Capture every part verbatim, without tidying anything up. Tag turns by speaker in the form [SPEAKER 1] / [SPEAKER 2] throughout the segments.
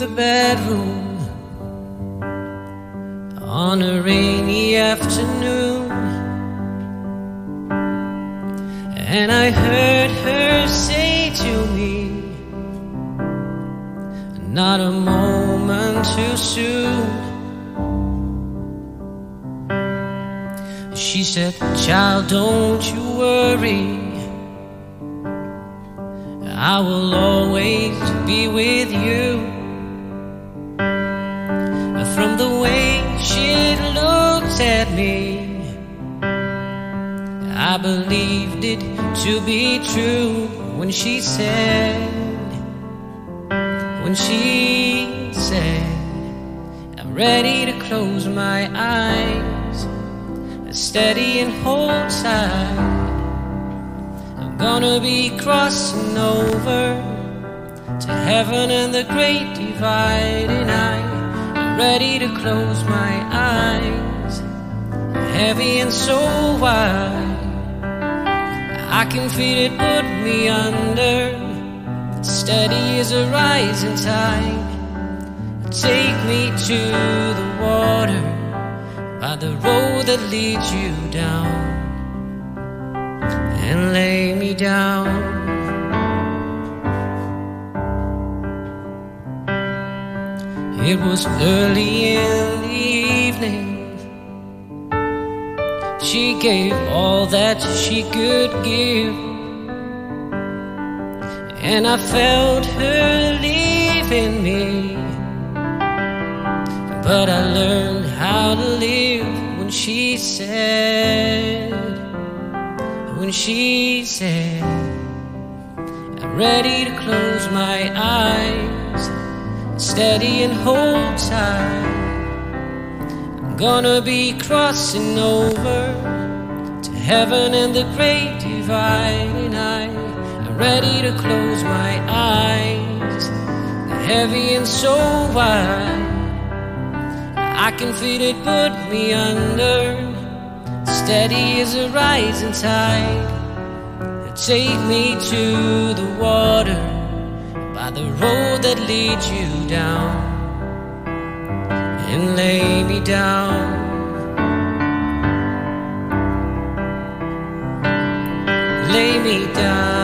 [SPEAKER 1] bedroom on a rainy afternoon, and I heard her say to me, not a moment too soon. She said, child, don't you worry, I will always be with you. From the way she looked at me, I believed it to be true when she said, when she said, I'm ready to close my eyes, steady and hold tight. I'm gonna be crossing over to heaven and the great divide, and I'm ready to close my eyes, heavy and so wide. I can feel it put me under, steady as a rising tide. Take me to the water, by the road that leads you down, and lay me down. It was early in the evening. She gave all that she could give, and I felt her leaving me. But I learned how to live when she said, when she said, I'm ready to close my eyes, steady and hold tight. I'm gonna be crossing over to heaven and the great divide, and I'm ready to close my eyes, heavy and so wide. I can feel it put me under, steady as a rising tide. Take me to the water, by the road that leads you down, and lay me down. Lay me down.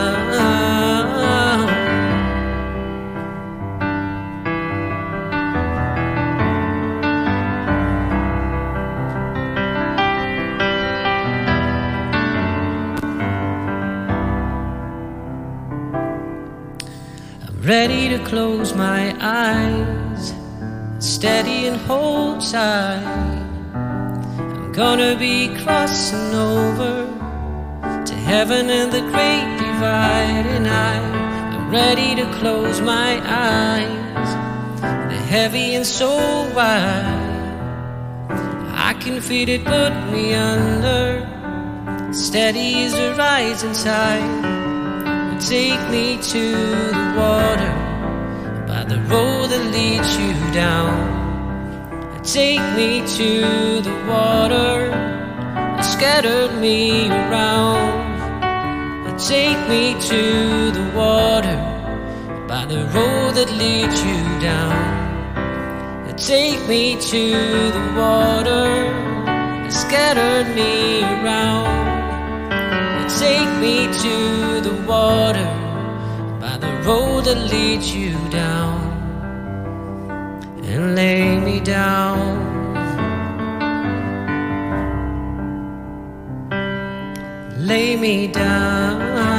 [SPEAKER 1] Ready to close my eyes, steady and hold tight. I'm gonna be crossing over to heaven and the great divide, and I'm ready to close my eyes, the heavy and so wide. I can feel it put me under, steady as a rising tide. Take me to the water, by the road that leads you down. Take me to the water that scattered me around. Take me to the water, by the road that leads you down. Take me to the water that scattered me around. Take me to the water, by the road that leads you down, and lay me down. Lay me down.